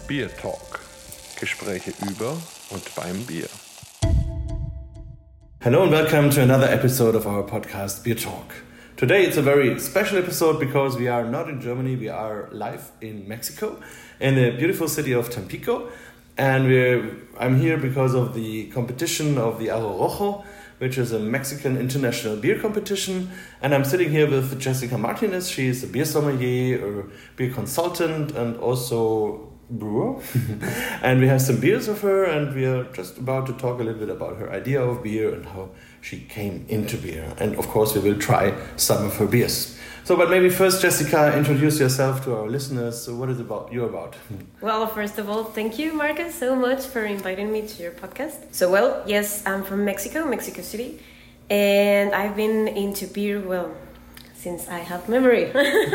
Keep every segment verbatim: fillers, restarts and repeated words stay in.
Beer Talk. Gespräche über und beim Bier. Hello and welcome to another episode of our podcast Beer Talk. Today it's a very special episode because we are not in Germany, we are live in Mexico, in the beautiful city of Tampico. And we're, I'm here because of the competition of the Aro Rojo, which is a Mexican international beer competition. And I'm sitting here with Jessica Martinez. She is a beer sommelier, a beer consultant, and also brewer. And we have some beers of her, and we are just about to talk a little bit about her idea of beer and how she came into beer. And of course, we will try some of her beers. So, but maybe first, Jessica, introduce yourself to our listeners. So what is about you about? Well, first of all, thank you, Marcus, so much for inviting me to your podcast. So, well, yes, I'm from Mexico, Mexico City, and I've been into beer, well, since I have memory.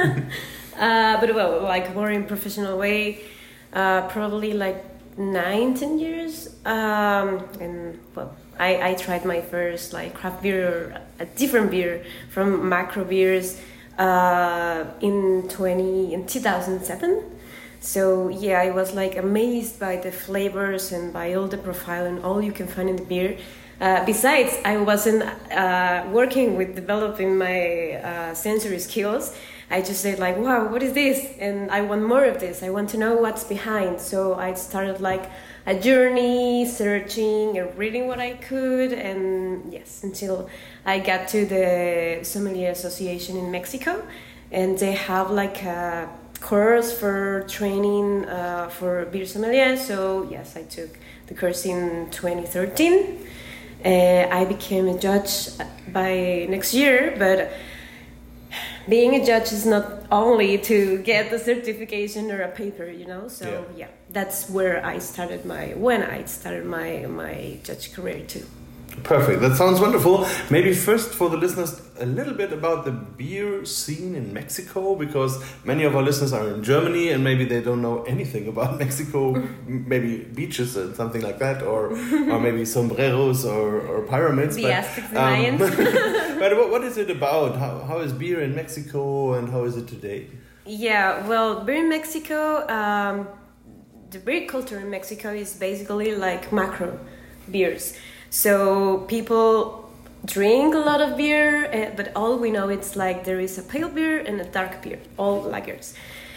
uh, but, well, like more in professional way, uh, probably like nine, ten years. Um, and, well, I, I tried my first, like, craft beer or a different beer from macro beers uh in twenty in two thousand seven. So yeah, I was like amazed by the flavors and by all the profile and all you can find in the beer. Uh, besides, I wasn't uh, working with developing my uh, sensory skills. I just said like, wow, what is this? And I want more of this. I want to know what's behind. So I started like a journey, searching and reading what I could. And yes, until I got to the Sommelier Association in Mexico. And they have like a course for training uh, for beer sommelier. So yes, I took the course in twenty thirteen. Uh, I became a judge by next year, but being a judge is not only to get a certification or a paper, you know. So yeah, yeah that's where I started my when I started my my judge career too. Perfect. That sounds wonderful. Maybe first for the listeners, a little bit about the beer scene in Mexico, because many of our listeners are in Germany and maybe they don't know anything about Mexico, maybe beaches and something like that, or or maybe sombreros or, or pyramids. The Aztecs and Mayans. But what, what is it about? How How is beer in Mexico and how is it today? Yeah, well, beer in Mexico, um, the beer culture in Mexico is basically like macro beers. So people drink a lot of beer, uh, but all we know it's like there is a pale beer and a dark beer, all lagers.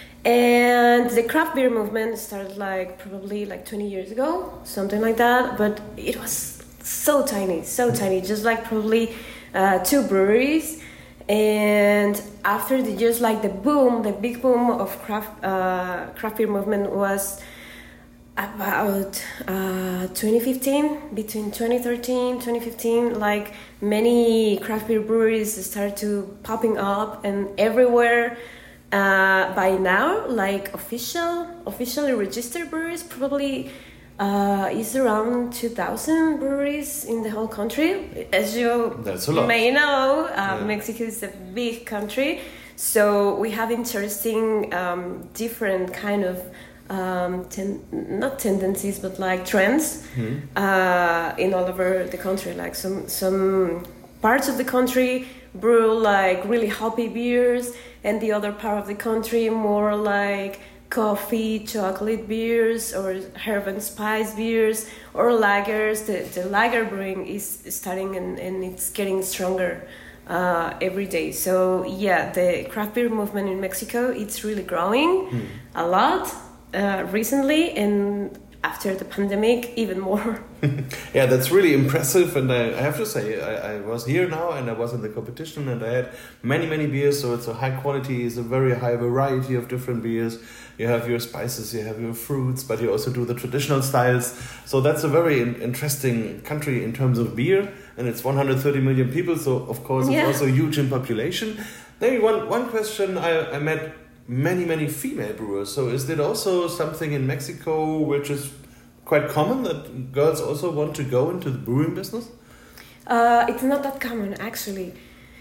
And the craft beer movement started like probably like twenty years ago, something like that. But it was so tiny, so tiny, just like probably uh, two breweries. And after the just like the boom, the big boom of craft uh, craft beer movement was about uh, twenty fifteen, between twenty thirteen, twenty fifteen, like many craft beer breweries started to popping up and everywhere. Uh, by now, like official, officially registered breweries, probably uh, is around two thousand breweries in the whole country. As you may know, uh, yeah. Mexico is a big country, so we have interesting, um, different kind of Um, ten, not tendencies, but like trends mm-hmm. uh, in all over the country. Like some some parts of the country brew like really hoppy beers, and the other part of the country more like coffee, chocolate beers, or herb and spice beers, or lagers. The, the lager brewing is starting and, and it's getting stronger uh, every day. So yeah, the craft beer movement in Mexico, it's really growing mm. a lot. Uh, recently, and after the pandemic, even more. Yeah, that's really impressive, and I, I have to say, I, I was here now, and I was in the competition, and I had many, many beers, so it's a high quality, it's a very high variety of different beers. You have your spices, you have your fruits, but you also do the traditional styles, so that's a very in- interesting country in terms of beer, and it's one hundred thirty million people, so of course it's yeah. also huge in population. Maybe one, one question I, I met many, many female brewers. So is that also something in Mexico which is quite common, that girls also want to go into the brewing business? Uh, it's not that common, actually.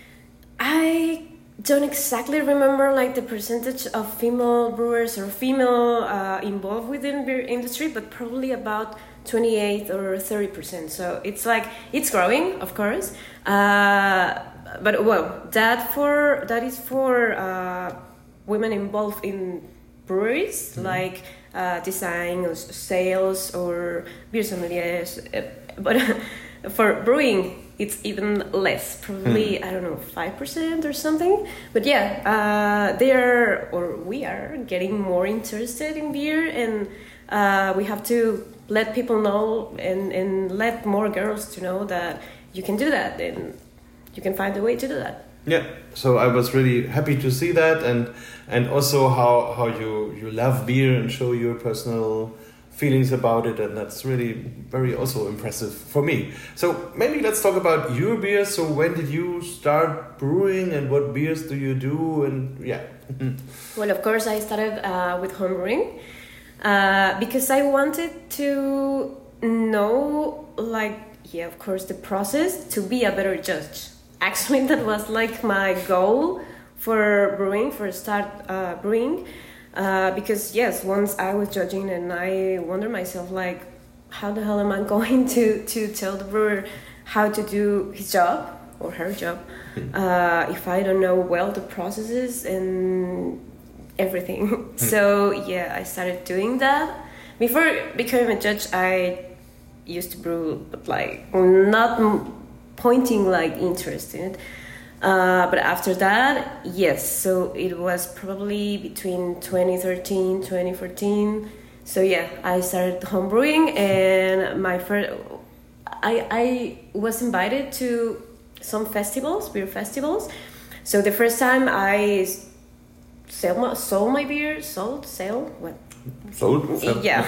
I don't exactly remember like the percentage of female brewers or female uh, involved within beer industry, but probably about twenty-eight or thirty percent. So it's like, it's growing, of course. Uh, but well, that for that is for uh, women involved in breweries, mm-hmm. like uh, design or sales or beer sommeliers. But for brewing, it's even less, probably, mm. I don't know, five percent or something. But yeah, uh, they are, or we are, getting more interested in beer, and uh, we have to let people know and, and let more girls to know that you can do that and you can find a way to do that. Yeah, so I was really happy to see that, and and also how, how you, you love beer and show your personal feelings about it, and that's really very also impressive for me. So maybe let's talk about your beer. So when did you start brewing, and what beers do you do? And yeah. Well, of course, I started uh, with home brewing uh, because I wanted to know, like, yeah, of course, the process to be a better judge. Actually, that was like my goal for brewing, for start uh, brewing. Uh, because yes, once I was judging and I wondered myself, like, how the hell am I going to, to tell the brewer how to do his job or her job uh, if I don't know well the processes and everything. So yeah, I started doing that. Before becoming a judge, I used to brew, but like not m- pointing like interest in it. Uh, but after that, yes, so it was probably between twenty thirteen, twenty fourteen. So yeah, I started homebrewing, and my first, I, I was invited to some festivals, beer festivals. So the first time I sell my, sold my beer, sold, sell, what? Sold? Sell. Yeah.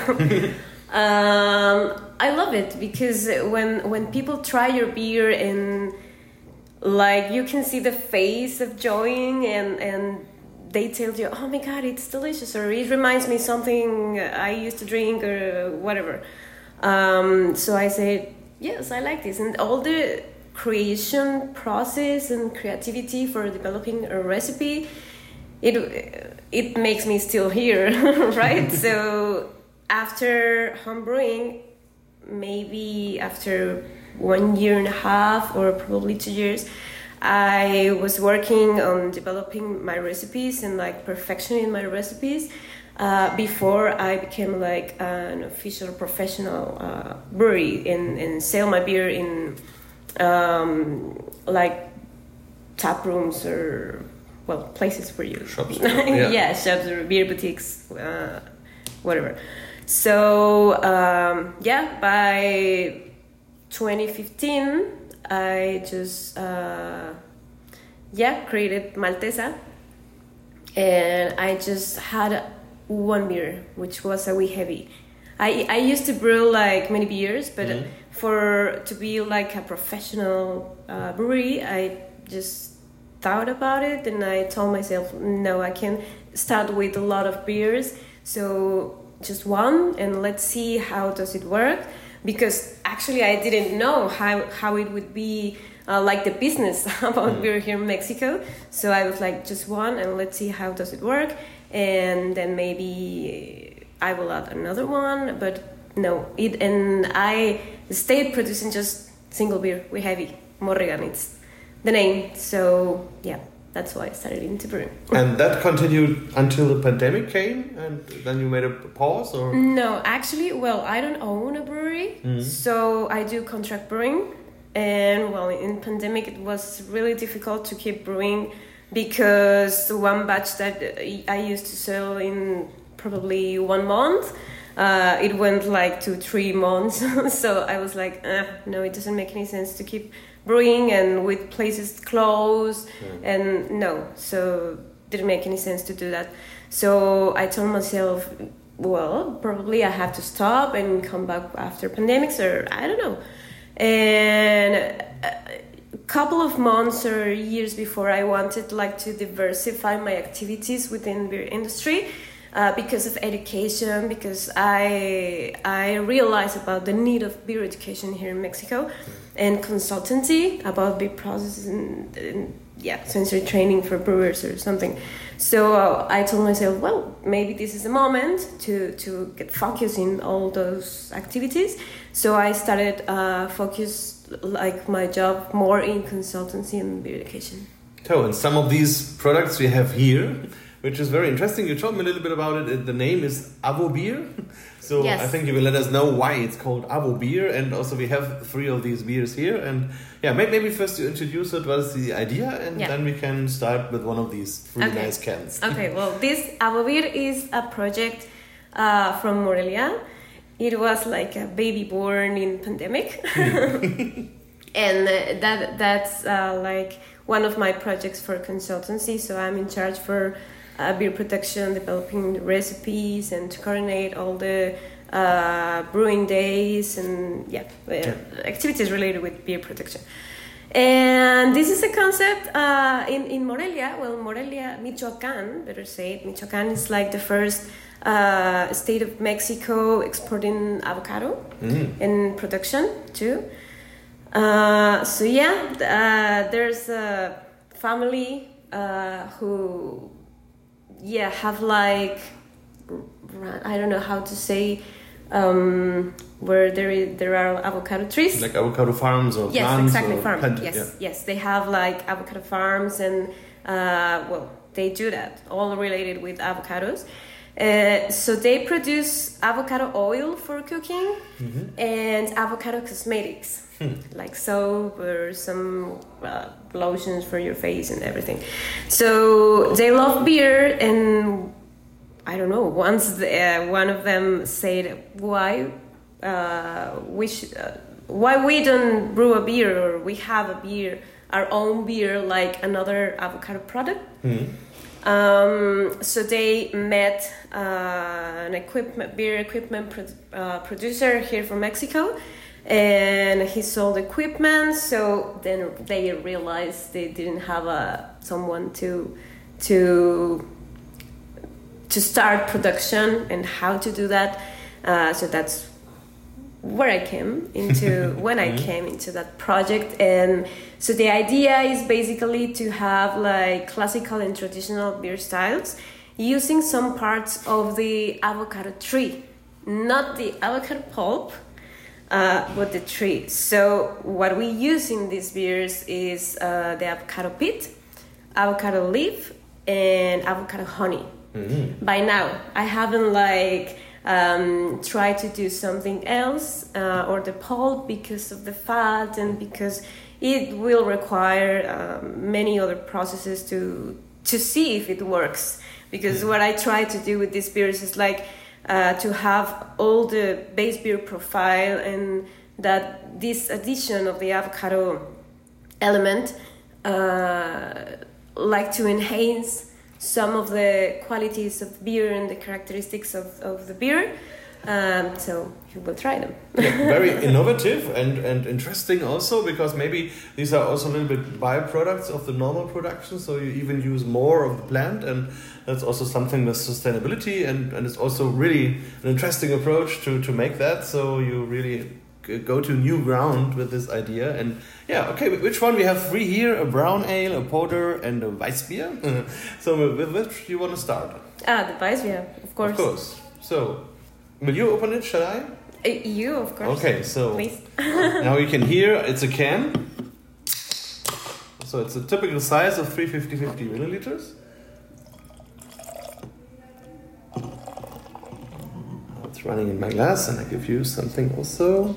um, I love it because when when people try your beer and like you can see the face of joy and and they tell you, oh my god, it's delicious, or it reminds me something I used to drink or whatever. Um, so I said, yes, I like this. And all the creation process and creativity for developing a recipe, it it makes me still here, right? So after homebrewing, maybe after one year and a half or probably two years, I was working on developing my recipes and like perfectioning my recipes uh, before I became like an official professional uh, brewery and, and sell my beer in um, like tap rooms or well places for you. Shops. Yeah. Yeah, shops or beer boutiques, uh, whatever. So um, yeah, by twenty fifteen, I just uh, yeah created Maltesa, and I just had one beer, which was a wee heavy. I I used to brew like many beers, but mm-hmm. for to be like a professional uh, brewery, I just thought about it, and I told myself, no, I can start with a lot of beers, so just one, and let's see how does it work. Because actually I didn't know how, how it would be uh, like the business about mm. beer here in Mexico. So I was like, just one, and let's see how does it work. And then maybe I will add another one. But no, it and I stayed producing just single beer. We heavy, Morrigan, it's the name. So yeah, that's why I started into brewing. And that continued until the pandemic came, and then you made a pause, or? No, actually, well, I don't own a brewery, mm-hmm. so I do contract brewing. And well, in pandemic, it was really difficult to keep brewing because one batch that I used to sell in probably one month, uh, it went like to three months. So I was like, eh, no, it doesn't make any sense to keep brewing and with places closed mm. and no, so didn't make any sense to do that. So I told myself, well, probably I have to stop and come back after pandemics, or I don't know. And a couple of months or years before, I wanted like to diversify my activities within beer industry. Uh, because of education, because I I realized about the need of beer education here in Mexico, and consultancy about beer processes and, and yeah, sensory training for brewers or something. So uh, I told myself, well, maybe this is the moment to to get focused in all those activities. So I started uh, focus like my job more in consultancy and beer education. So, and some of these products we have here. which is very interesting. You told me a little bit about it. The name is Avo Beer. So yes. I think you will let us know why it's called Avo Beer. And also we have three of these beers here. And yeah, maybe first you introduce it, what is the idea, and yeah. then we can start with one of these three okay. nice cans. Okay, well, this Avo Beer is a project uh, from Morelia. It was like a baby born in pandemic. And uh, that that's uh, like one of my projects for consultancy. So I'm in charge for uh, beer production, developing recipes, and to coordinate all the uh, brewing days and yeah, uh, yeah, activities related with beer production. And this is a concept uh, in in Morelia. Well, Morelia, Michoacán, better say it. Michoacán is like the first uh, state of Mexico exporting avocado mm-hmm. in production too. Uh, so yeah, uh, there's a family uh, who, yeah, have like, I don't know how to say, um, where there is, there are avocado trees. Like avocado farms or yes, plants? Exactly, or farms. Plant- yes, yeah. yes, they have like avocado farms and, uh, well, they do that, all related with avocados. Uh, so they produce avocado oil for cooking mm-hmm. and avocado cosmetics, hmm. like soap or some uh, lotions for your face and everything. So they love beer, and I don't know, once the, uh, one of them said, why uh, we sh- uh, why we don't brew a beer, or we have a beer, our own beer, like another avocado product. Hmm. Um, so they met uh, an equipment beer equipment pro- uh, producer here from Mexico, and he sold equipment. So then they realized they didn't have a someone to to to start production and how to do that. Uh, so that's where I came into when I came into that project. And so the idea is basically to have like classical and traditional beer styles using some parts of the avocado tree, not the avocado pulp, uh, but the tree. So what we use in these beers is uh, the avocado pit, avocado leaf, and avocado honey. Mm-hmm. By now, I haven't like Um, try to do something else uh, or the pulp because of the fat and because it will require um, many other processes to to see if it works. Because what I try to do with these beers is like uh, to have all the base beer profile, and that this addition of the avocado element uh, like to enhance some of the qualities of beer and the characteristics of, of the beer. Um, so you will try them. Yeah, very innovative and, and interesting also, because maybe these are also a little bit byproducts of the normal production. So you even use more of the plant, and that's also something with sustainability. And, and it's also really an interesting approach to, to make that. So you really go to new ground with this idea. And yeah, okay, which one? We have three here: a brown ale, a porter, and a Weissbier. So with which do you want to start? Ah, the Weissbier, of course. Of course. So will you open it? Shall I? Uh, you, of course. Okay, so please. Now you can hear it's a can. So it's a typical size of three hundred fifty fifty milliliters. It's running in my glass, and I give you something also.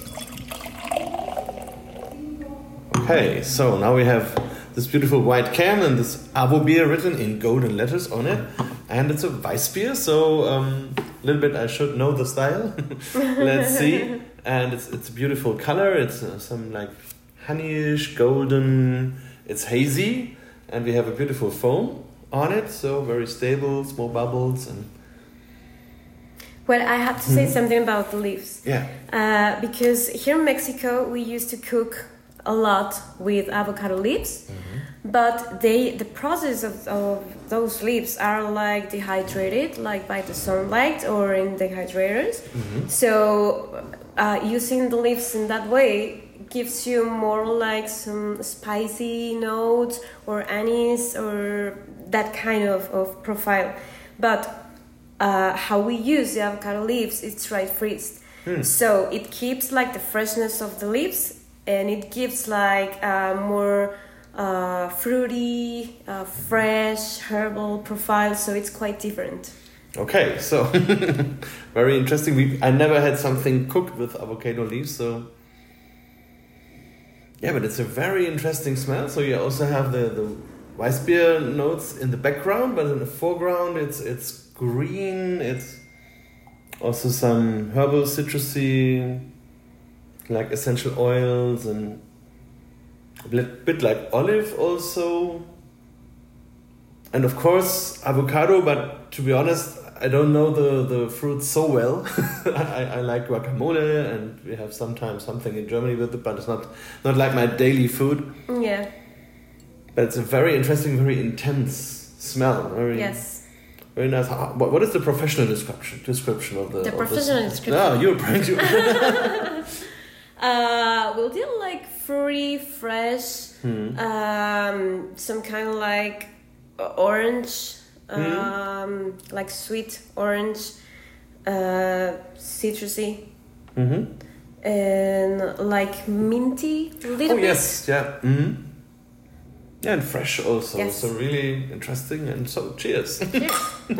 Okay, so now we have this beautiful white can and this Avo Beer written in golden letters on it, and it's a Weissbier. So um, a little bit I should know the style. Let's see. And it's it's a beautiful color. It's uh, some like honeyish golden. It's hazy, and we have a beautiful foam on it. So very stable, small bubbles and. Well, I have to say mm-hmm. something about the leaves. Yeah. Uh, because here in Mexico we used to cook a lot with avocado leaves, mm-hmm. but they the process of, of those leaves are like dehydrated, like by the sunlight or in dehydrators. Mm-hmm. So uh, using the leaves in that way gives you more like some spicy notes or anise or that kind of, of profile. But uh, how we use the avocado leaves, it's dry freezed. Mm. So it keeps like the freshness of the leaves, and it gives like uh, more uh, fruity, uh, fresh, herbal profile, so it's quite different. Okay, so very interesting. We I never had something cooked with avocado leaves, so yeah, but it's a very interesting smell. So you also have the the Weissbier notes in the background, but in the foreground it's it's green. It's also some herbal citrusy, like essential oils, and a bit, bit like olive also. And of course avocado, but to be honest, I don't know the, the fruit so well. I, I like guacamole, and we have sometimes something in Germany with it, but it's not, not like my daily food. Yeah. But it's a very interesting, very intense smell. Very, yes. Very nice. How, what, what is the professional description description of the? The of professional this? description. No, you're trying to. uh, we'll do like fruity, fresh, Hmm. um, some kind of like orange, Hmm. um, like sweet orange, uh, citrusy, Mm-hmm. and like minty a little Oh bit. yes, yeah. Mm-hmm. Yeah, and fresh also. Yes. So really interesting. And so cheers. Cheers.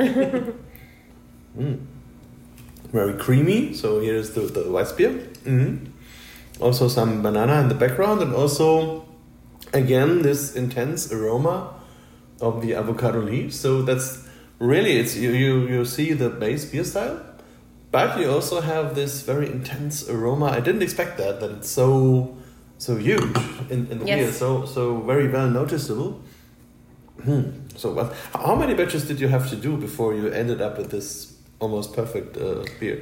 Mm. Very creamy. So here's the the Weissbier. Mm-hmm. Also some banana in the background, and also again this intense aroma of the avocado leaves. So that's really it's you you you see the base beer style, but you also have this very intense aroma. I didn't expect that that it's so so huge in, in the Yes. beer. So so very well noticeable. Hmm. So what? How many batches did you have to do before you ended up with this almost perfect uh, beer?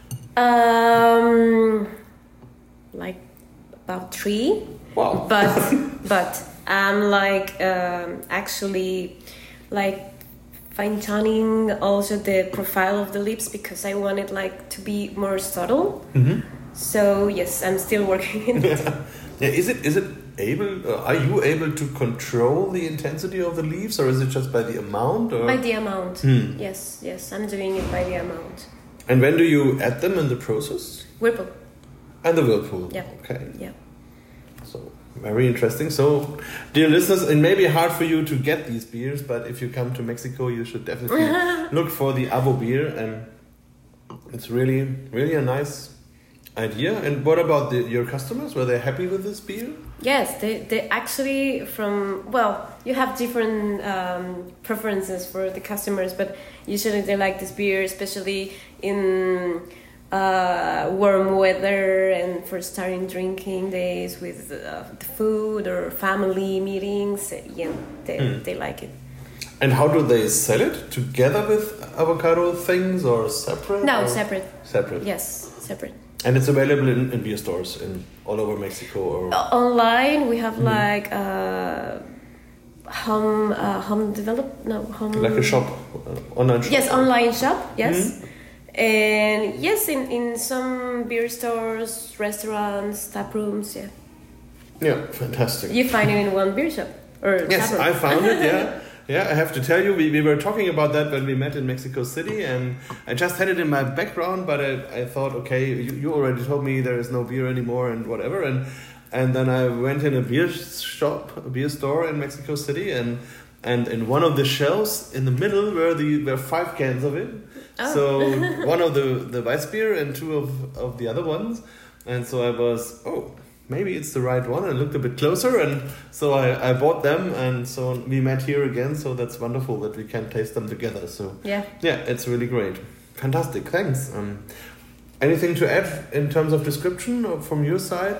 Um, like about three. Wow. But but I'm like um, actually like fine tuning also the profile of the lips, because I want it like to be more subtle. Mm-hmm. So yes, I'm still working in it. Yeah, is it is it able? Uh, are you able to control the intensity of the leaves, or is it just by the amount? Or? By the amount. Hmm. Yes, yes, I'm doing it by the amount. And when do you add them in the process? Whirlpool. And the whirlpool. Yeah. Okay. Yeah. So very interesting. So, dear listeners, it may be hard for you to get these beers, but if you come to Mexico, you should definitely look for the Avo beer, and it's really, really a nice idea. And what about the, your customers? Were they happy with this beer? Yes, they, they actually from, well, you have different um, preferences for the customers, but usually they like this beer, especially in uh, warm weather and for starting drinking days with uh, the food or family meetings. Yeah, they, Mm. they like it. And how do they sell it? Together with avocado things or separate? No, or? separate. Separate. Yes, separate. And it's available in, in beer stores in all over Mexico, or Uh, online, we have Mhm. like uh, home uh, home develop no home like a shop, uh, online shop. Yes, online shop. Yes, Mhm. and yes, in, in some beer stores, restaurants, tap rooms. Yeah, Yeah, fantastic. you find it in one beer shop or Yes, tap room. I found it. Yeah, yeah. I have to tell you, we, we were talking about that when we met in Mexico City, and I just had it in my background, but I, I thought, okay, you, you already told me there is no beer anymore and whatever, and and then I went in a beer shop, a beer store in Mexico City, and and in one of the shelves in the middle were the were five cans of it. Oh. So one of the the Weissbier and two of of the other ones, and so I was oh. Maybe it's the right one. I looked a bit closer, and so I, I bought them, and so we met here again. So that's wonderful that we can taste them together. So Yeah. yeah, it's really great. Fantastic. Thanks. Um, anything to add in terms of description or from your side?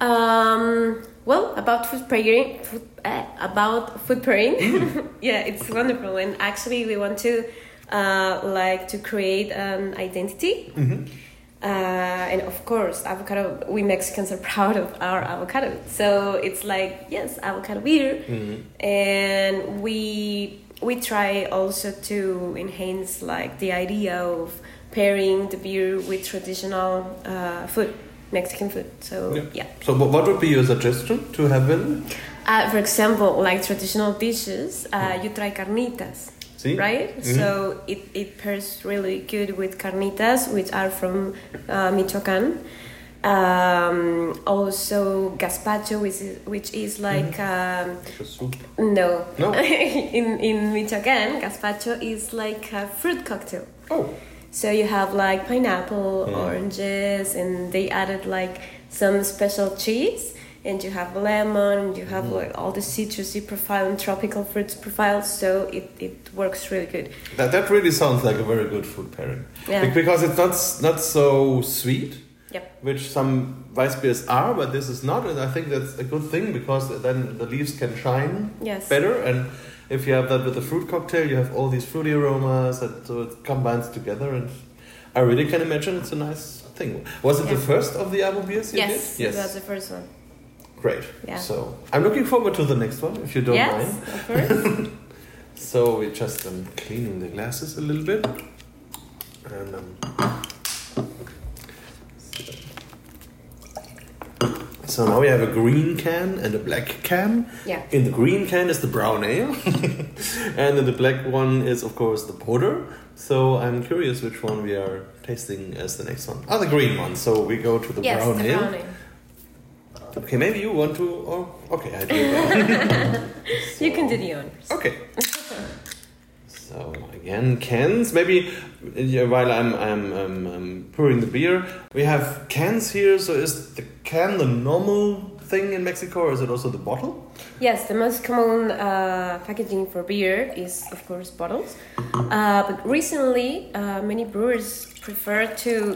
Um. Well, about food pairing, food, uh, about food pairing. Yeah, it's wonderful, and actually, we want to uh, like to create an identity. Mm-hmm. Uh, and of course, avocado, we Mexicans are proud of our avocado. So it's like, yes, avocado beer. Mm-hmm. And we we try also to enhance like the idea of pairing the beer with traditional uh, food, Mexican food. So Yeah. yeah. So what what would be your suggestion to have in? Uh, for example, like traditional dishes, uh, you try carnitas. See? Right? Mhm. So it, it pairs really good with carnitas, which are from uh, Michoacan. Um, also gazpacho, which is, which is like um, Like a soup. no, No? in in Michoacán, gazpacho is like a fruit cocktail. Oh. So you have like pineapple, Mm. oranges, and they added like some special cheese, and you have lemon, and you have like all the citrusy profile and tropical fruits profile. So it, it works really good. That that really sounds like a very good food pairing. Yeah. Be- Because it's not s- not so sweet, Yep. which some Weiss beers are, but this is not, and I think that's a good thing because then the leaves can shine Yes. better. And if you have that with the fruit cocktail, you have all these fruity aromas, and so it combines together. And I really can imagine it's a nice thing. Was it Yeah. the first of the Abo beers you Yes, did? that was the first one. Great. Yeah. So I'm looking forward to the next one, if you don't yes, mind. of course. So we just um, cleaning the glasses a little bit, and um, so now we have a green can and a black can. Yeah. In the green can is the brown ale, and in the black one is of course the porter. So I'm curious which one we are tasting as the next one. Oh, the green one. So we go to the Yes, brown the ale. brown ale. Okay, maybe you want to. Oh, okay, I do that. You can do the honors. Okay. So again, cans. Maybe uh, while I'm I'm um, um, pouring the beer, we have cans here. So is the can the normal thing in Mexico, or is it also the bottle? Yes, the most common uh, packaging for beer is, of course, bottles. Uh, but recently, uh, many brewers prefer to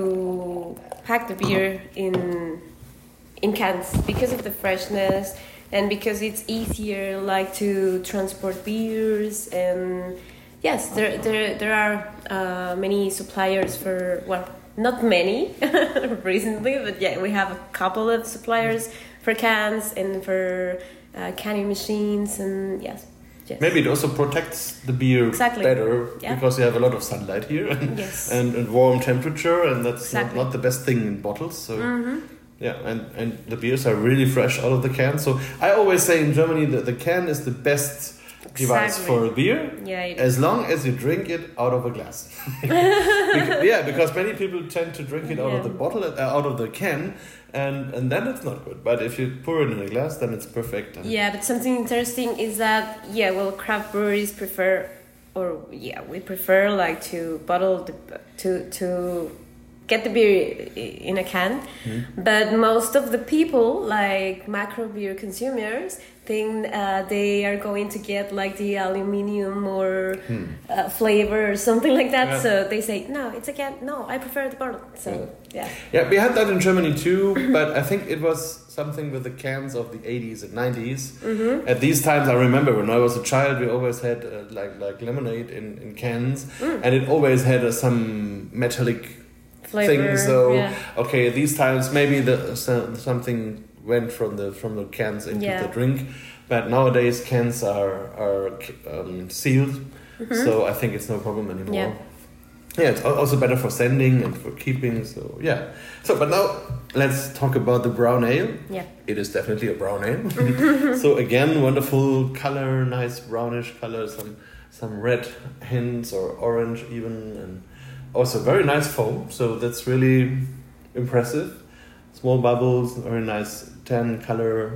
to pack the beer in in cans because of the freshness and because it's easier, like to transport beers. And yes, there there there are uh, many suppliers for, well, not many recently, but yeah, we have a couple of suppliers for cans and for uh, canning machines, and yes. Yes. Maybe it also protects the beer Exactly. better Yeah. because you have a lot of sunlight here and, Yes. and, and warm temperature, and that's not, Exactly. not the best thing in bottles. So Mm-hmm. yeah, and, and the beers are really fresh out of the can. So I always say in Germany that the can is the best device Exactly. for a beer, Yeah, it is. as long as you drink it out of a glass. Because, yeah, because many people tend to drink it out Yeah. of the bottle, uh, out of the can, and, and then it's not good. But if you pour it in a glass, then it's perfect. And Yeah, but something interesting is that, yeah, well, craft breweries prefer, or yeah, we prefer like to bottle the, to to get the beer i- in a can. But most of the people, like macro beer consumers, think uh, they are going to get like the aluminium or uh, flavor or something like that. Yeah. So they say, no, it's a can. No, I prefer the bottle. So yeah. Yeah, we had that in Germany too, but I think it was something with the cans of the eighties and nineties. Mm-hmm. At these times, I remember when I was a child, we always had uh, like like lemonade in, in cans, Mm. and it always had uh, some metallic Flavor, thing. So yeah. okay, these times maybe the so, something went from the from the cans into Yeah. the drink, but nowadays cans are are um, sealed, so I think it's no problem anymore. Yeah. Yeah, it's al- also better for sending and for keeping. So yeah. So, but now let's talk about the brown ale. Yeah. It is definitely a brown ale. So again, wonderful color, nice brownish color, some some red hints or orange even, and also very nice foam. So that's really impressive. Small bubbles, very nice tan color.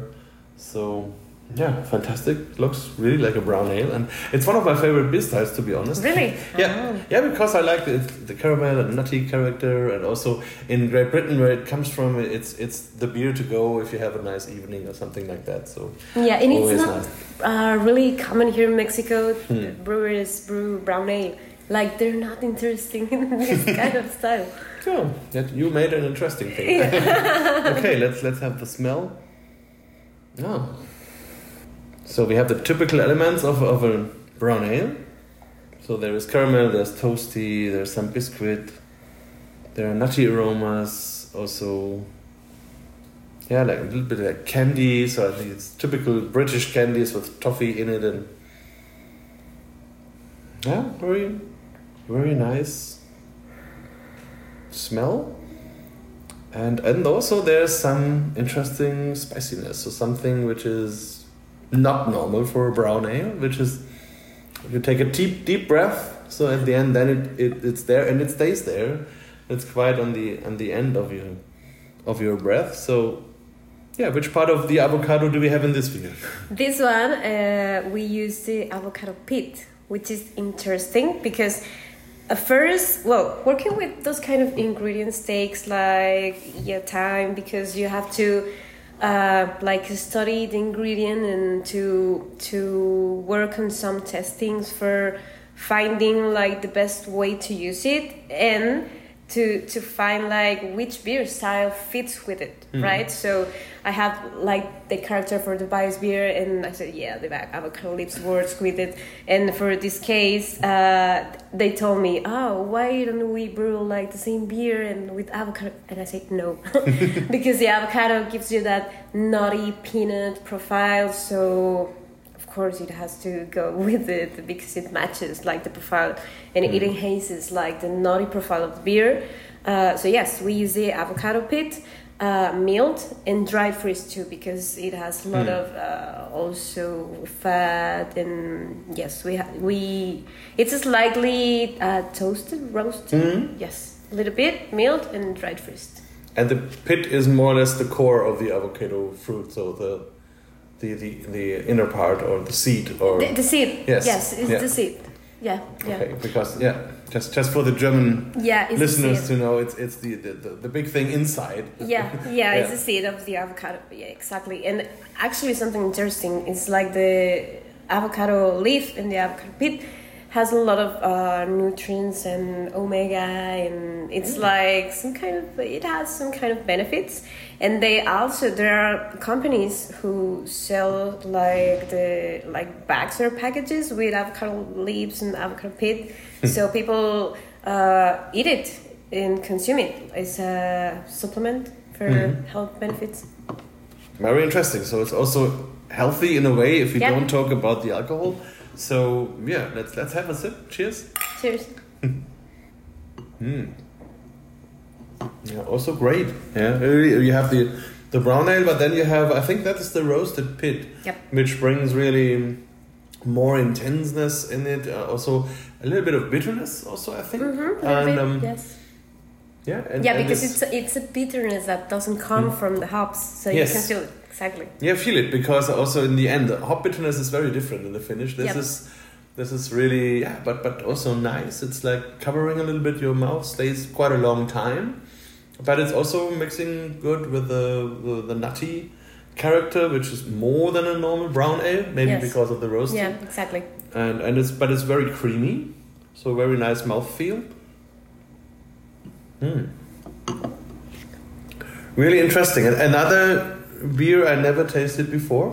So yeah, fantastic. Looks really like a brown ale, and it's one of my favorite beer styles, to be honest. Really? Yeah, Oh. yeah, because I like the, the caramel and nutty character, and also in Great Britain, where it comes from, it's it's the beer to go if you have a nice evening or something like that. So Yeah, and always it's not nice. uh, really common here in Mexico. Hmm. Brewers brew brown ale. Like, they're not interesting in this kind of style. Yeah, that you made an interesting thing. Okay, let's let's have the smell. Oh. So we have the typical elements of, of a brown ale. So there is caramel, there's toasty, there's some biscuit, there are nutty aromas, also, yeah, like a little bit like candy. So I think it's typical British candies with toffee in it, and yeah, very, very nice smell. And and also there's some interesting spiciness, so something which is not normal for a brown ale, which is you take a deep deep breath, so at the end then it, it it's there and it stays there. It's quite on the on the end of your of your breath. So, yeah, which part of the avocado do we have in this beer? This one, uh, we use the avocado pit, which is interesting because at first, well, working with those kind of ingredients takes like yeah time because you have to uh, like study the ingredient and to to work on some testings for finding like the best way to use it and to to find like which beer style fits with it, mm-hmm. right? So I have like the character for the bias beer, and I said, yeah, the avocado lips works with it. And for this case, uh, they told me, oh, why don't we brew like the same beer and with avocado? And I said no, because the avocado gives you that nutty peanut profile. So of course it has to go with it because it matches like the profile, and mm. it enhances like the nutty profile of the beer. Uh, so yes, we use the avocado pit, uh, milled and dried freeze too, because it has a lot mm. of uh, also fat, and yes, we ha- we it's slightly uh, toasted, roasted. Mm. Yes, a little bit milled and dried freeze. And the pit is more or less the core of the avocado fruit, so the. The, the, the inner part or the seed or the, the seed yes yes it's yeah. the seed yeah yeah okay because yeah just just for the German yeah, listeners to know it's it's the, the, the, the big thing inside yeah yeah, yeah it's the seed of the avocado, yeah, exactly. And actually something interesting is like the avocado leaf and the avocado pit has a lot of uh, nutrients and omega, and it's mm. like some kind of it has some kind of benefits. And they also there are companies who sell like the like bags or packages with avocado leaves and avocado pit, so people uh, eat it and consume it as a supplement for mm-hmm. health benefits. Very interesting. So it's also healthy in a way if you yep. don't talk about the alcohol. So yeah, let's let's have a sip. Cheers. Cheers. mm. Yeah, also great. Yeah, you have the the brown ale, but then you have I think that is the roasted pit, yep. which brings really more intenseness in it. Uh, also a little bit of bitterness. Also, I think. Mm-hmm, and bit, um, yes. Yeah. And, yeah, and because it's a, it's a bitterness that doesn't come mm. from the hops, so yes. you can feel it. Exactly. Yeah, feel it because also in the end, the hop bitterness is very different in the finish. This yep. is, this is really yeah, but but also nice. It's like covering a little bit. Your mouth stays quite a long time, but it's also mixing good with the the, the nutty character, which is more than a normal brown ale, maybe yes. because of the roasting. Yeah, exactly. And and it's but it's very creamy, so very nice mouthfeel. Hmm. Really interesting. And another beer I never tasted before.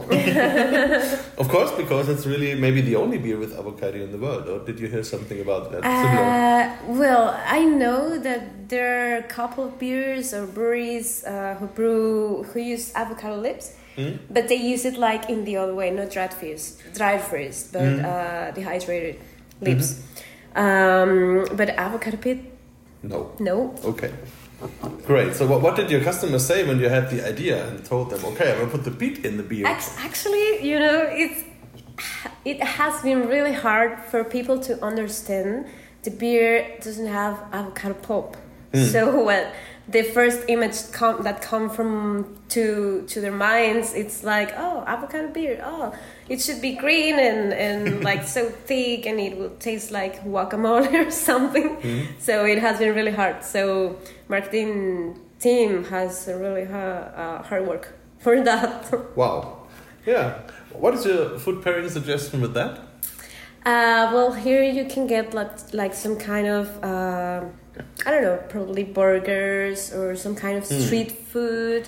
Of course, because it's really maybe the only beer with avocado in the world. Or did you hear something about that? Uh, well, I know that there are a couple of beers or breweries uh, who brew who use avocado lips, mm. but they use it like in the other way, not dried freeze, dried freeze, but mm. uh, dehydrated lips. Mm-hmm. Um, but avocado pit? No. No. Okay. Great. So what, what did your customers say when you had the idea and told them, okay, I'm going to put the peat in the beer? Actually, you know, it's it has been really hard for people to understand the beer doesn't have avocado pulp. Mm. So when the first image com- that come from to to their minds, it's like, oh, avocado beer, oh, it should be green and, and like so thick, and it will taste like guacamole or something. Mm. So it has been really hard. So marketing team has a really hard, uh, hard work for that. Wow. Yeah. What is your food pairing suggestion with that? Uh, well, here you can get like, like some kind of, uh, I don't know, probably burgers or some kind of mm. street food.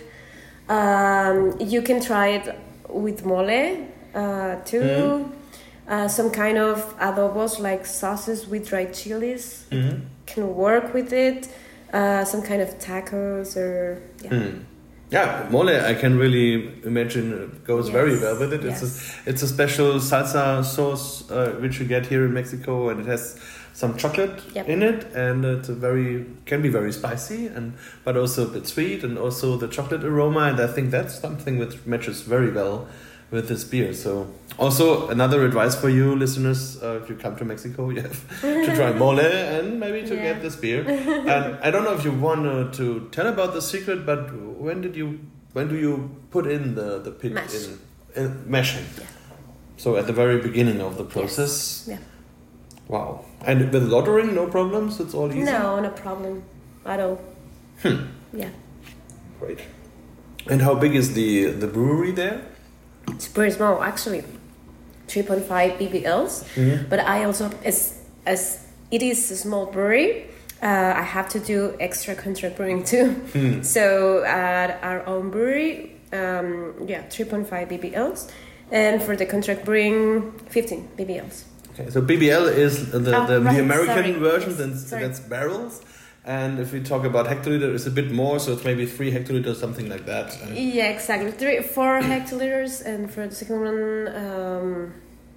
Um, you can try it with mole uh, too. Mm. Uh, some kind of adobos like sauces with dried chilies mm-hmm. can work with it. Uh, some kind of tacos or yeah. Mm. Yeah, mole I can really imagine goes yes. very well with it. Yes. It's a it's a special salsa sauce uh, which you get here in Mexico, and it has some chocolate yep. in it, and it's a very can be very spicy and but also a bit sweet, and also the chocolate aroma, and I think that's something which matches very well with this beer. So also another advice for you listeners, uh, if you come to Mexico, you have to try mole and maybe to yeah. get this beer. And I don't know if you want uh, to tell about the secret, but when did you when do you put in the the pit Mash. in, in mashing? Yeah. So at the very beginning of the process. Yes. Yeah. Wow. And with loddering, no problems. It's all easy. No, no problem at all. Hmm. Yeah. Great. And how big is the the brewery there? It's pretty small, actually. three point five B B Ls. Mhm. But I also, as as it is a small brewery, uh, I have to do extra contract brewing too. Hmm. So at our own brewery, um, yeah, three point five B B Ls. And for the contract brewing, fifteen B B Ls. Okay, so B B L is the, Oh, the, right, the American sorry. version, Yes, then sorry. that's barrels. And if we talk about hectoliter, it's a bit more, so it's maybe three hectoliters, something like that. And Yeah, exactly. Three, four hectoliters, and for the second one, um,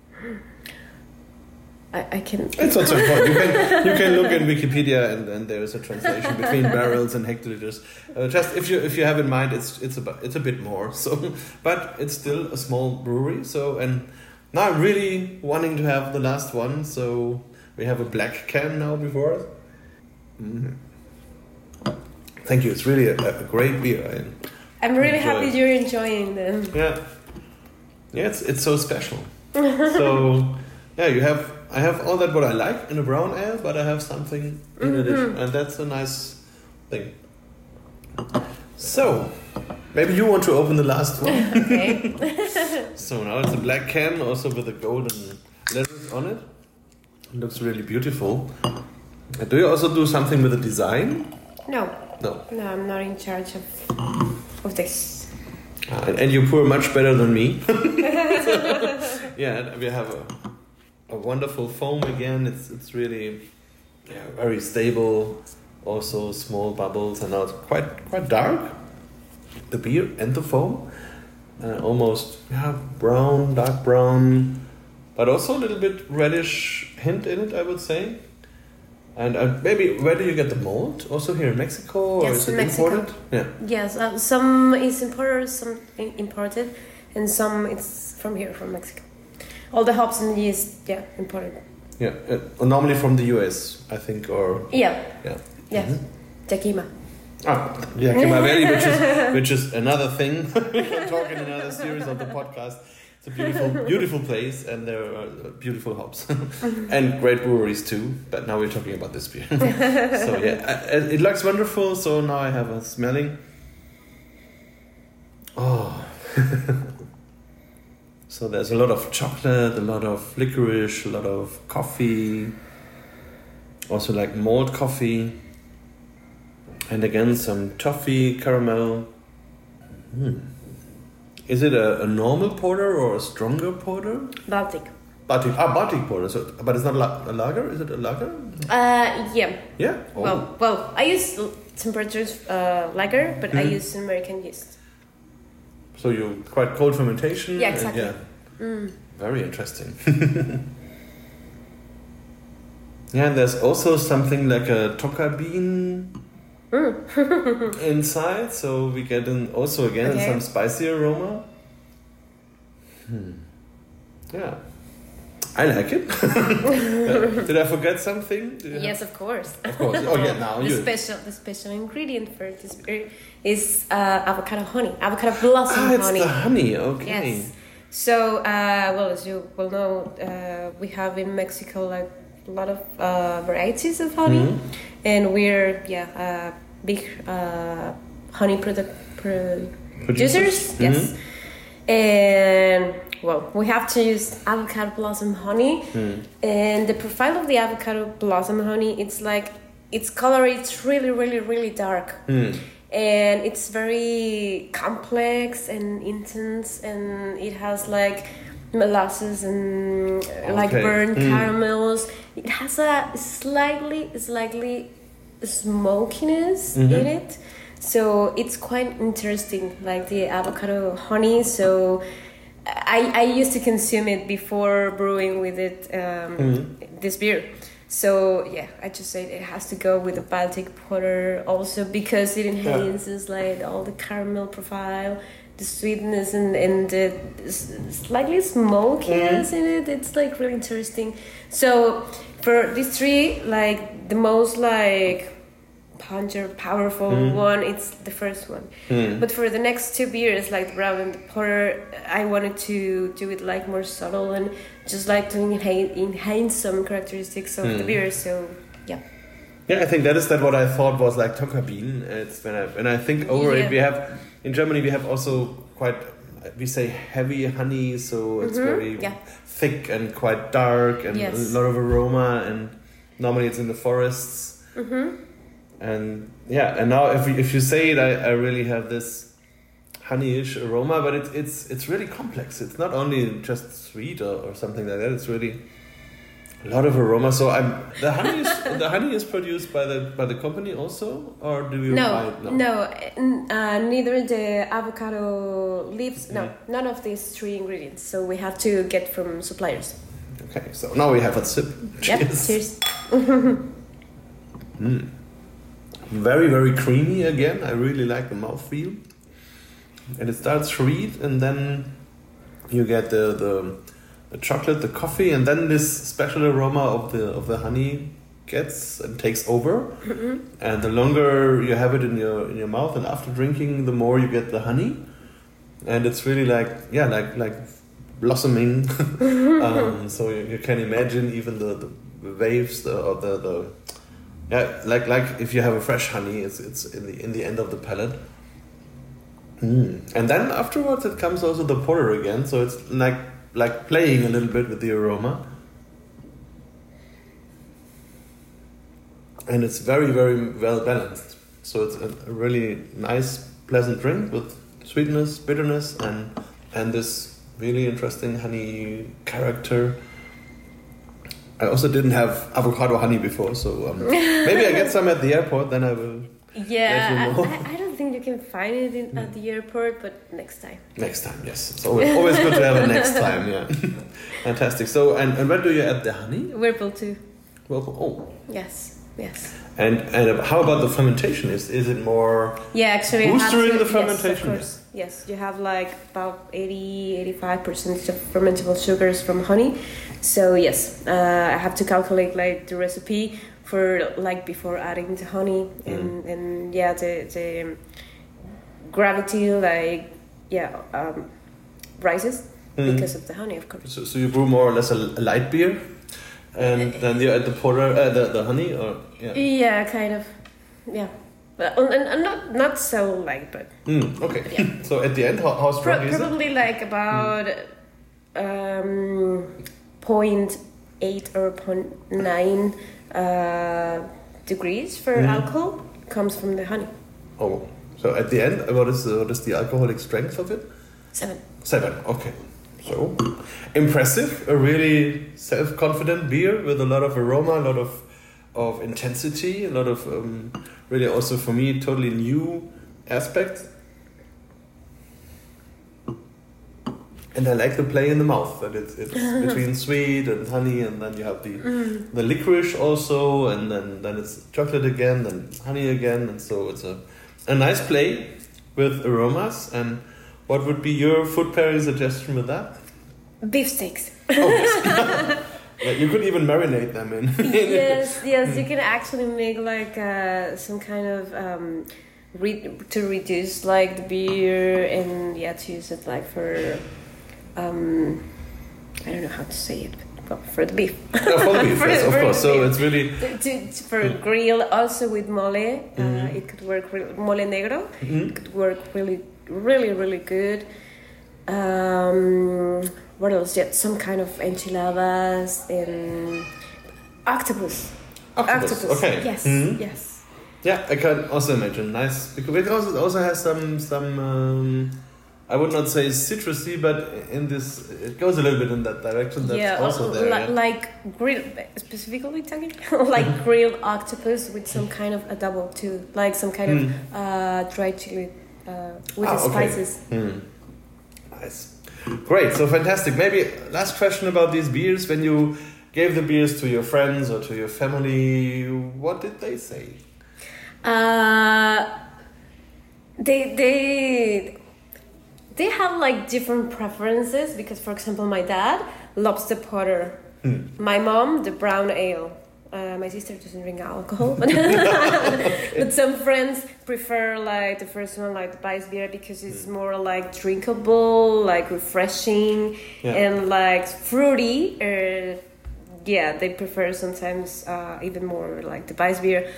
I, I can. it's not so important. You can you can look in Wikipedia, and then there is a translation between barrels and hectoliters. Uh, just if you if you have in mind, it's it's about it's a bit more. So, but it's still a small brewery. So, and now I'm really wanting to have the last one. So we have a black can now before us. Mm. Thank you. It's really a, a great beer. I, I'm really Enjoy. happy you're enjoying them. yeah, yeah. It's it's so special. So yeah, you have. I have all that what I like in a brown ale, but I have something in addition, and that's a nice thing. So maybe you want to open the last one. Okay. So now it's a black can, also with the golden letters on it. It looks really beautiful. Uh, Do you also do something with the design? No, No. no, I'm not in charge of of this. Uh, and, and you pour much better than me. Yeah, and we have a, a wonderful foam again. It's it's really yeah, very stable. Also small bubbles, and now it's quite quite dark. The beer and the foam, uh, almost yeah brown, dark brown, but also a little bit reddish hint in it, I would say. And uh, maybe where do you get the malt? Also here in Mexico, or Yes, is it in Mexico. imported? Yeah. Yes, uh, some is imported, some i- imported, and some it's from here, from Mexico. All the hops and yeast, yeah, imported. Yeah, uh, normally from the U S, I think, or Yeah, yeah. yes, Mhm. Yakima. Ah, Yakima Valley, which is which is another thing. We can talk in another series of the podcast. It's a beautiful, beautiful place, and there are beautiful hops and great breweries too. But now we're talking about this beer. So yeah, I- it looks wonderful. So now I have a smelling. Oh. So there's a lot of chocolate, a lot of licorice, a lot of coffee. Also like malt coffee. And again, some toffee, caramel. Hmm. Is it a, a normal porter or a stronger porter? Baltic. Baltic, ah, Baltic porter. So, but it's not la- a lager. Is it a lager? Uh, yeah. Yeah. Oh. Well, well, I use temperatures uh, lager, but I Mhm. use American yeast. So you quite cold fermentation. Yeah, and exactly. yeah, Mm. very interesting. Yeah, and there's also something like a toka bean inside, so we get in also again Okay. some spicy aroma. Hmm. Yeah, I like it. Yeah. Did I forget something? Did you Yes, of course. have- of course. Oh yeah, now the you. special, the special ingredient for this beer is uh, avocado honey, avocado blossom Ah, it's honey. the honey. Okay. Yes. So, uh, well, as you will know, uh, we have in Mexico like a lot of uh, varieties of honey, Mhm. and we're yeah uh, big uh, honey product pro- Producers? producers. Yes, and well, we have to use avocado blossom honey, Mm. and the profile of the avocado blossom honey, it's like its color, it's really, really, really dark. Mm. And it's very complex and intense, and it has like molasses and uh, like Okay. burnt Mm. caramels. It has a slightly, slightly smokiness Mhm. in it, so it's quite interesting, like the avocado honey. So I I used to consume it before brewing with it um, Mhm. this beer. So yeah, I just say it has to go with the Baltic porter also because it enhances like all the caramel profile, the sweetness and and the s- slightly smokiness in it. It's like really interesting. So for these three, like the most like puncher, powerful Mm. one, it's the first one. Mm. But for the next two beers, like the brown and the porter, I wanted to do it like more subtle and just like to enhance, enhance some characteristics of the Mm. beer. So yeah. Yeah, I think that is that what I thought was like Tokabin. It's when I and I think over Yeah. it we have in Germany we have also quite we say heavy honey, so it's Mhm, very yeah. thick and quite dark and Yes. a lot of aroma, and normally it's in the forests. Mm-hmm. And yeah, and now if you, if you say it, I, I really have this honeyish aroma, but it's it's it's really complex. It's not only just sweet or, or something like that. It's really a lot of aroma. So I'm the honey is the honey is produced by the by the company also, or do you buy No, it? no, n- uh, neither the avocado leaves. No, Mm. none of these three ingredients. So we have to get from suppliers. Okay, so now we have a sip. Yep. Cheers. Cheers. Mm. Very very creamy again. I really like the mouthfeel, and it starts sweet, and then you get the the. The chocolate, the coffee, and then this special aroma of the of the honey gets and takes over. Mm-hmm. And the longer you have it in your in your mouth, and after drinking, the more you get the honey. And it's really like yeah, like like blossoming. um, so you, you can imagine even the, the waves, the or the, the yeah, like like if you have a fresh honey, it's it's in the in the end of the palate. Mm. And then afterwards, it comes also the porter again. So it's like. like playing a little bit with the aroma. And it's very, very well balanced. So it's a, a really nice, pleasant drink with sweetness, bitterness, and and this really interesting honey character. I also didn't have avocado honey before, so um, maybe I get some at the airport, then I will Yeah, let you know. I, I don't think you can find it in, at the airport, but next time. Next time, yes. It's always, always good to have a next time, yeah. Fantastic. So, and, and where do you add the honey? Whirlpool too. Well, oh. Yes, yes. And and how about the fermentation? Is is it more Yeah, actually, I had boostering to, the fermentation? Yes, of course. Yes, you have like about eighty, eighty-five percent of fermentable sugars from honey. So yes, uh, I have to calculate like the recipe for like before adding the honey, and Mm. and yeah, the the gravity like yeah um, rises Mm. because of the honey, of course. So, so you brew more or less a, a light beer, and then you add the porter, uh, the the honey, or yeah. Yeah, kind of. Yeah, but and, and not not so light, but Mm, okay. Yeah. So at the end, how, how strong pro- is it? probably like about um, point eight or point nine uh, degrees for Mhm. alcohol comes from the honey. Oh, so at the end, what is the, what is the alcoholic strength of it? Seven. Seven. Okay. So impressive. A really self-confident beer with a lot of aroma, a lot of of intensity, a lot of um, really also for me totally new aspects. And I like the play in the mouth, that it's, it's between sweet and honey, and then you have the Mm. the licorice also, and then, then it's chocolate again, then honey again, and so it's a a nice play with aromas. And what would be your food pairing suggestion with that? Beef steaks. Oh, yes. Yeah, you could even marinate them in. Yes, yes, you can actually make like uh, some kind of um, re- to reduce like the beer, and yeah, to use it like for um, I don't know how to say it, well, for the beef. Yeah, for the beef, For- yes, of for course. the So beef. it's really to, to, for grill also with mole. Uh, Mhm. it could work re- mole negro. Mhm. It could work really, really, really good. Um, what else? Yeah, some kind of enchiladas and octopus. octopus. Okay. Yes. Mhm. Yes. Yeah, I can also imagine nice because it also it also has some some. Um, I would not say citrusy, but in this it goes a little bit in that direction. That's yeah, also uh, there. li- yeah. like grilled, specifically talking, like grilled octopus with some kind of adobo too, like some kind Mm. of uh, dried chili uh, with Ah, the okay. spices. Hmm. Nice. Great. So fantastic. Maybe last question about these beers. When you gave the beers to your friends or to your family, what did they say? Uh, they they they have like different preferences because, for example, my dad loves the porter, Hmm. my mom the brown ale, Uh, my sister doesn't drink alcohol, but, but some friends prefer like the first one, like the Weissbier, because it's more like drinkable, like refreshing, yeah. and like fruity. Uh, yeah, they prefer sometimes uh, even more like the Weissbier.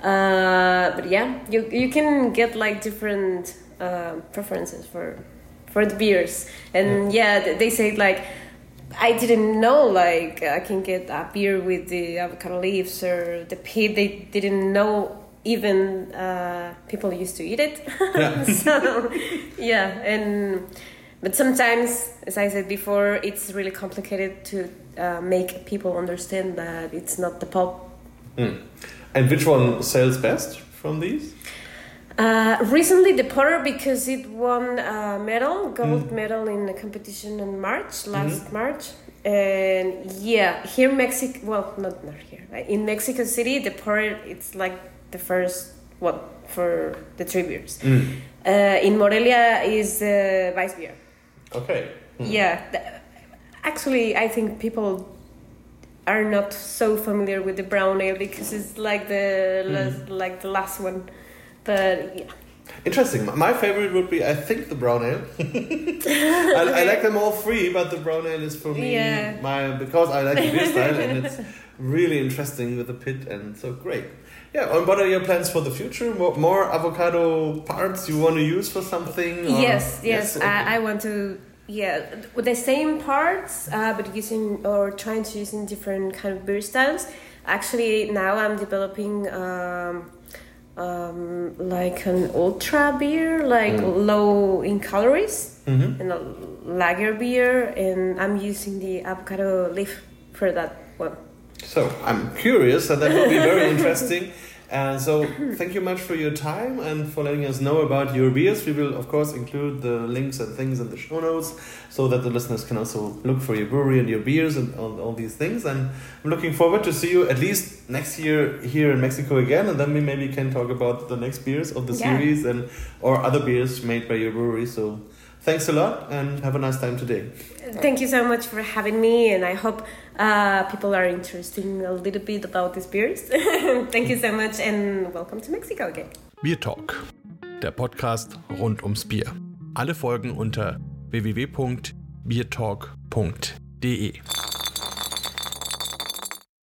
Uh, but yeah, you you can get like different uh, preferences for for the beers, and yeah, yeah they say like. I didn't know like I can get a beer with the avocado leaves or the pit. They didn't know even uh, people used to eat it. Yeah. So yeah, and but sometimes, as I said before, it's really complicated to uh, make people understand that it's not the pulp. Mm. And which one sells best from these? Uh, recently, the porter, because it won a medal, gold mm. medal in a competition in March, last mm-hmm. March. And yeah, here in Mexico, well, not, not here, in Mexico City, the porter, it's like the first one for the three beers. Mm. Uh, in Morelia is the uh, Weissbier. Okay. Mm. Yeah. The, actually, I think people are not so familiar with the brown ale because it's like the, mm. last, like the last one. But yeah. Interesting. My favorite would be, I think, the brown ale. I, I like them all three, but the brown ale is for me yeah. my because I like the beer style and it's really interesting with the pit and so great. Yeah. And what are your plans for the future? More, more avocado parts you want to use for something? Or? Yes, yes. yes? Okay. I, I want to. Yeah, with the same parts, uh, but using or trying to use in different kind of beer styles. Actually, now I'm developing. Um, Um, like an ultra beer, like mm. low in calories, mm-hmm. and a lager beer, and I'm using the avocado leaf for that one. So I'm curious, and that will be very interesting. And so thank you much for your time and for letting us know about your beers. We will, of course, include the links and things in the show notes so that the listeners can also look for your brewery and your beers and all, all these things. And I'm looking forward to see you at least next year here in Mexico again. And then we maybe can talk about the next beers of the yeah. series and or other beers made by your brewery. So thanks a lot and have a nice time today. Thank you so much for having me, and I hope uh, people are interested a little bit about these beers. Thank you so much and welcome to Mexico again. Beer Talk, der Podcast rund ums Bier. Alle Folgen unter w w w punkt biertalk punkt d e.